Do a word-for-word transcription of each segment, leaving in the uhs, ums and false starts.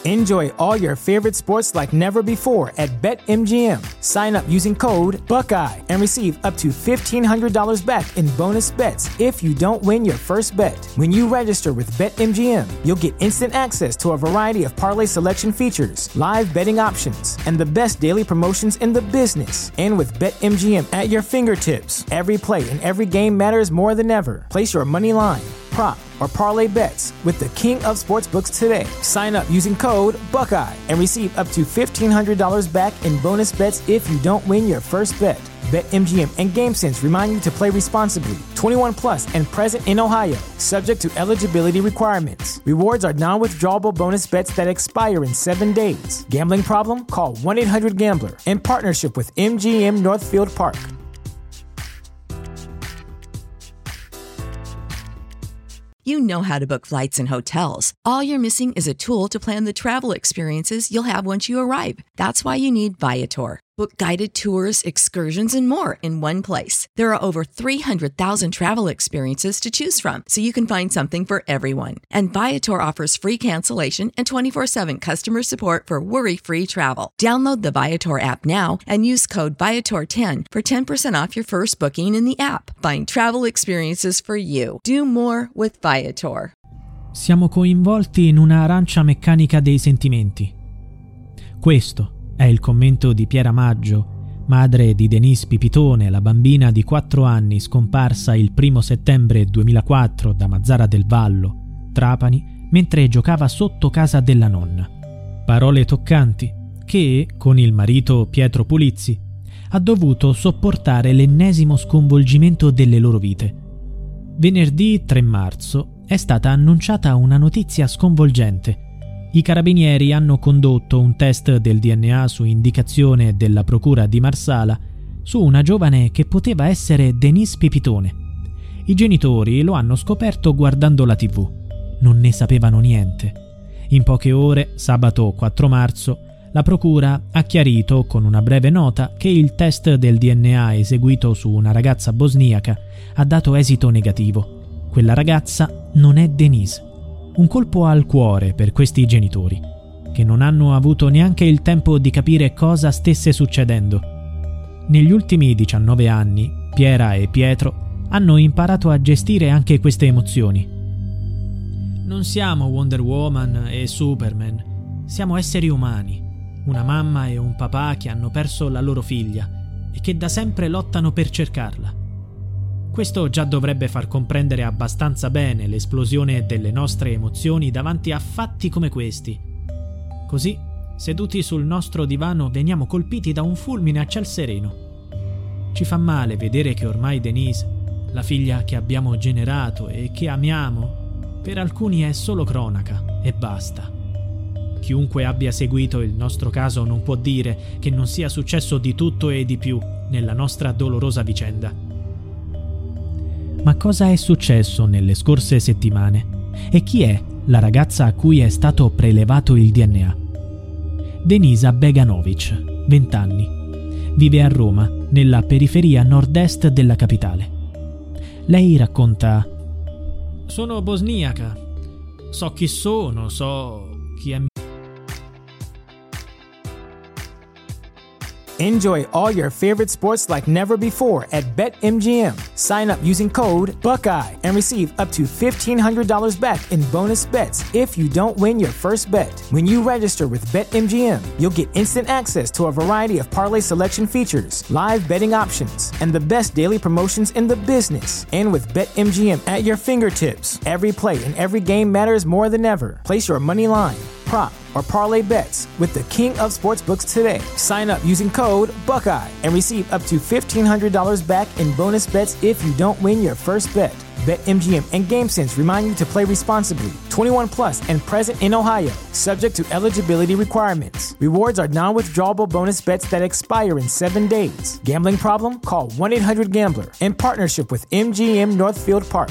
Enjoy all your favorite sports like never before at BetMGM. Sign up using code Buckeye and receive up to fifteen hundred dollars back in bonus bets if you don't win your first bet. When you register with BetMGM, you'll get instant access to a variety of parlay selection features, live betting options, and the best daily promotions in the business. And with BetMGM at your fingertips, every play and every game matters more than ever. Place your money line, prop, or parlay bets with the king of sportsbooks today. Sign up using code Buckeye and receive up to fifteen hundred dollars back in bonus bets if you don't win your first bet. BetMGM and GameSense remind you to play responsibly. twenty-one plus and present in Ohio, subject to eligibility requirements. Rewards are non-withdrawable bonus bets that expire in seven days. Gambling problem? Call one eight hundred gambler in partnership with M G M Northfield Park. You know how to book flights and hotels. All you're missing is a tool to plan the travel experiences you'll have once you arrive. That's why you need Viator. Book guided tours, excursions, and more in one place. There are over three hundred thousand travel experiences to choose from, so you can find something for everyone. And Viator offers free cancellation and twenty-four seven customer support for worry-free travel. Download the Viator app now and use code Viator ten for ten percent off your first booking in the app. Find travel experiences for you. Do more with Viator. Siamo coinvolti in una arancia meccanica dei sentimenti. Questo è il commento di Piera Maggio, madre di Denise Pipitone, la bambina di quattro anni scomparsa il primo settembre duemilaquattro da Mazzara del Vallo, Trapani, mentre giocava sotto casa della nonna. Parole toccanti che, con il marito Pietro Pulizzi, ha dovuto sopportare l'ennesimo sconvolgimento delle loro vite. Venerdì tre marzo è stata annunciata una notizia sconvolgente. I carabinieri hanno condotto un test del D N A su indicazione della procura di Marsala su una giovane che poteva essere Denise Pipitone. I genitori lo hanno scoperto guardando la tivù. Non ne sapevano niente. In poche ore, sabato quattro marzo, la procura ha chiarito con una breve nota che il test del D N A eseguito su una ragazza bosniaca ha dato esito negativo. Quella ragazza non è Denise. Un colpo al cuore per questi genitori, che non hanno avuto neanche il tempo di capire cosa stesse succedendo. Negli ultimi diciannove anni, Piera e Pietro hanno imparato a gestire anche queste emozioni. Non siamo Wonder Woman e Superman, siamo esseri umani, una mamma e un papà che hanno perso la loro figlia e che da sempre lottano per cercarla. Questo già dovrebbe far comprendere abbastanza bene l'esplosione delle nostre emozioni davanti a fatti come questi. Così, seduti sul nostro divano, veniamo colpiti da un fulmine a ciel sereno. Ci fa male vedere che ormai Denise, la figlia che abbiamo generato e che amiamo, per alcuni è solo cronaca e basta. Chiunque abbia seguito il nostro caso non può dire che non sia successo di tutto e di più nella nostra dolorosa vicenda. Ma cosa è successo nelle scorse settimane? E chi è la ragazza a cui è stato prelevato il D N A? Denisa Beganovic, venti anni. Vive a Roma, nella periferia nord-est della capitale. Lei racconta: sono bosniaca. So chi sono, so chi è. Enjoy all your favorite sports like never before at BetMGM. Sign up using code Buckeye and receive up to fifteen hundred dollars back in bonus bets if you don't win your first bet. When you register with BetMGM, you'll get instant access to a variety of parlay selection features, live betting options, and the best daily promotions in the business. And with BetMGM at your fingertips, every play and every game matters more than ever. Place your money line, prop, or parlay bets with the king of sportsbooks today. Sign up using code Buckeye and receive up to fifteen hundred dollars back in bonus bets if you don't win your first bet. BetMGM and GameSense remind you to play responsibly. twenty-one plus and present in Ohio, subject to eligibility requirements. Rewards are non-withdrawable bonus bets that expire in seven days. Gambling problem? Call one eight hundred gambler in partnership with M G M Northfield Park.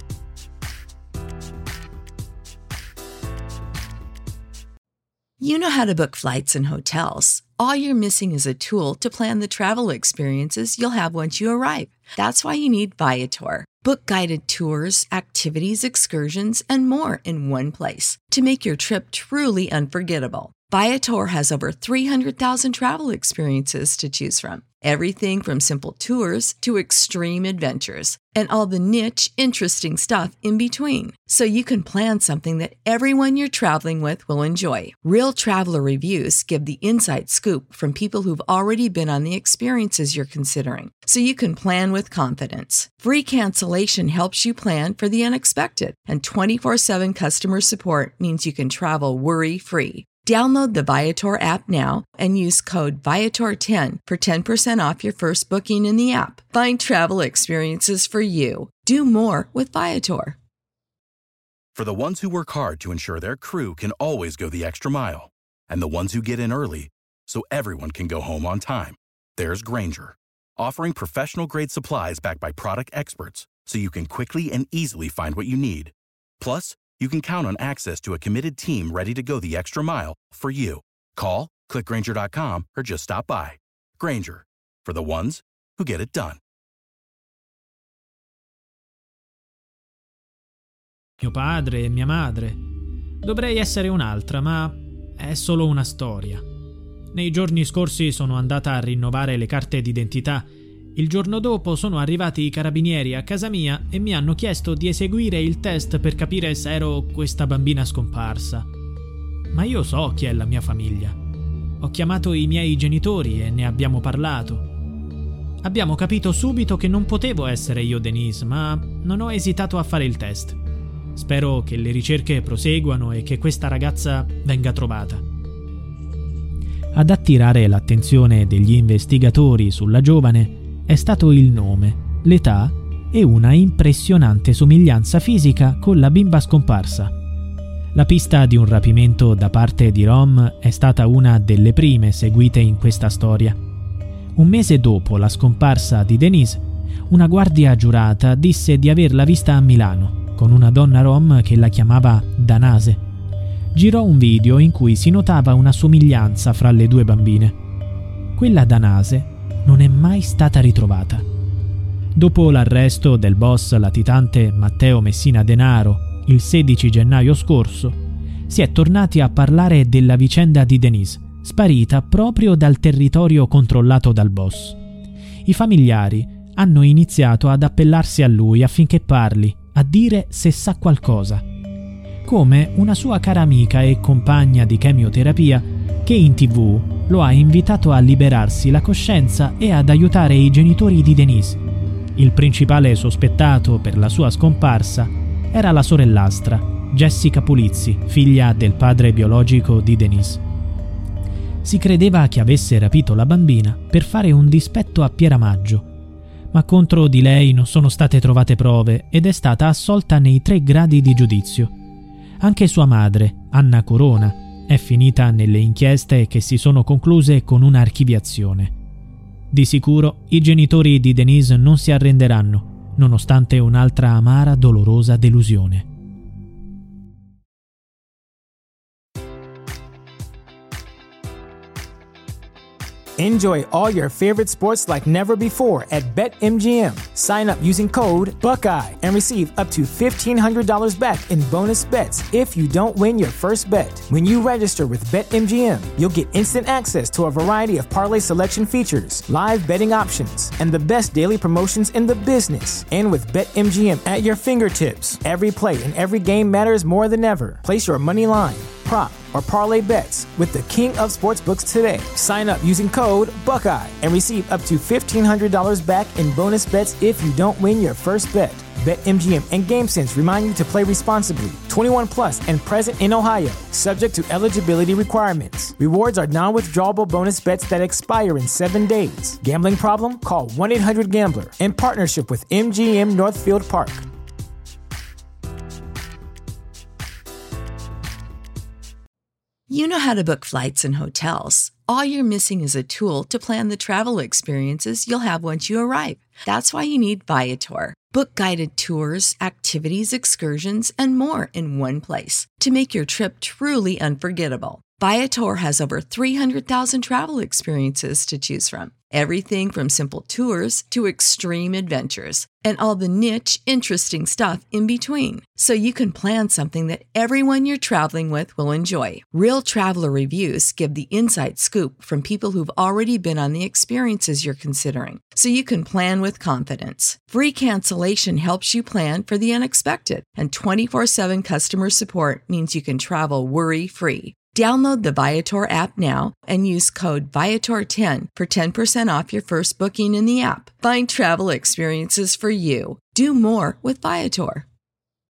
You know how to book flights and hotels. All you're missing is a tool to plan the travel experiences you'll have once you arrive. That's why you need Viator. Book guided tours, activities, excursions, and more in one place to make your trip truly unforgettable. Viator has over three hundred thousand travel experiences to choose from. Everything from simple tours to extreme adventures and all the niche, interesting stuff in between. So you can plan something that everyone you're traveling with will enjoy. Real traveler reviews give the inside scoop from people who've already been on the experiences you're considering. So you can plan with confidence. Free cancellation helps you plan for the unexpected. And twenty-four seven customer support means you can travel worry-free. Download the Viator app now and use code Viator ten for ten percent off your first booking in the app. Find travel experiences for you. Do more with Viator. For the ones who work hard to ensure their crew can always go the extra mile, and the ones who get in early so everyone can go home on time, there's Grainger, offering professional-grade supplies backed by product experts so you can quickly and easily find what you need. Plus, you can count on access to a committed team ready to go the extra mile for you. Call, click Grainger dot com, or just stop by. Grainger, for the ones who get it done. Mio padre e mia madre. Dovrei essere un'altra, ma è solo una storia. Nei giorni scorsi sono andata a rinnovare le carte d'identità. Il giorno dopo sono arrivati i carabinieri a casa mia e mi hanno chiesto di eseguire il test per capire se ero questa bambina scomparsa. Ma io so chi è la mia famiglia. Ho chiamato i miei genitori e ne abbiamo parlato. Abbiamo capito subito che non potevo essere io Denise, ma non ho esitato a fare il test. Spero che le ricerche proseguano e che questa ragazza venga trovata. Ad attirare l'attenzione degli investigatori sulla giovane è stato il nome, l'età e una impressionante somiglianza fisica con la bimba scomparsa. La pista di un rapimento da parte di Rom è stata una delle prime seguite in questa storia. Un mese dopo la scomparsa di Denise, una guardia giurata disse di averla vista a Milano, con una donna Rom che la chiamava Danase. Girò un video in cui si notava una somiglianza fra le due bambine. Quella Danase non è mai stata ritrovata. Dopo l'arresto del boss latitante Matteo Messina Denaro il sedici gennaio scorso, si è tornati a parlare della vicenda di Denise, sparita proprio dal territorio controllato dal boss. I familiari hanno iniziato ad appellarsi a lui affinché parli, a dire se sa qualcosa. Come una sua cara amica e compagna di chemioterapia che in tv lo ha invitato a liberarsi la coscienza e ad aiutare i genitori di Denise. Il principale sospettato per la sua scomparsa era la sorellastra, Jessica Pulizzi, figlia del padre biologico di Denise. Si credeva che avesse rapito la bambina per fare un dispetto a Pieramaggio, ma contro di lei non sono state trovate prove ed è stata assolta nei tre gradi di giudizio. Anche sua madre, Anna Corona, è finita nelle inchieste che si sono concluse con un'archiviazione. Di sicuro i genitori di Denise non si arrenderanno, nonostante un'altra amara, dolorosa delusione. Enjoy all your favorite sports like never before at BetMGM. Sign up using code Buckeye and receive up to fifteen hundred dollars back in bonus bets if you don't win your first bet. When you register with BetMGM, you'll get instant access to a variety of parlay selection features, live betting options, and the best daily promotions in the business. And with BetMGM at your fingertips, every play and every game matters more than ever. Place your money line, prop, or parlay bets with the king of sportsbooks today. Sign up using code Buckeye and receive up to fifteen hundred dollars back in bonus bets if you don't win your first bet. BetMGM and GameSense remind you to play responsibly. twenty-one plus and present in Ohio, subject to eligibility requirements. Rewards are non-withdrawable bonus bets that expire in seven days. Gambling problem? Call one eight hundred gambler in partnership with M G M Northfield Park. You know how to book flights and hotels. All you're missing is a tool to plan the travel experiences you'll have once you arrive. That's why you need Viator. Book guided tours, activities, excursions, and more in one place to make your trip truly unforgettable. Viator has over three hundred thousand travel experiences to choose from. Everything from simple tours to extreme adventures and all the niche, interesting stuff in between. So you can plan something that everyone you're traveling with will enjoy. Real traveler reviews give the inside scoop from people who've already been on the experiences you're considering. So you can plan with confidence. Free cancellation helps you plan for the unexpected. And twenty-four seven customer support means you can travel worry-free. Download the Viator app now and use code Viator ten for ten percent off your first booking in the app. Find travel experiences for you. Do more with Viator.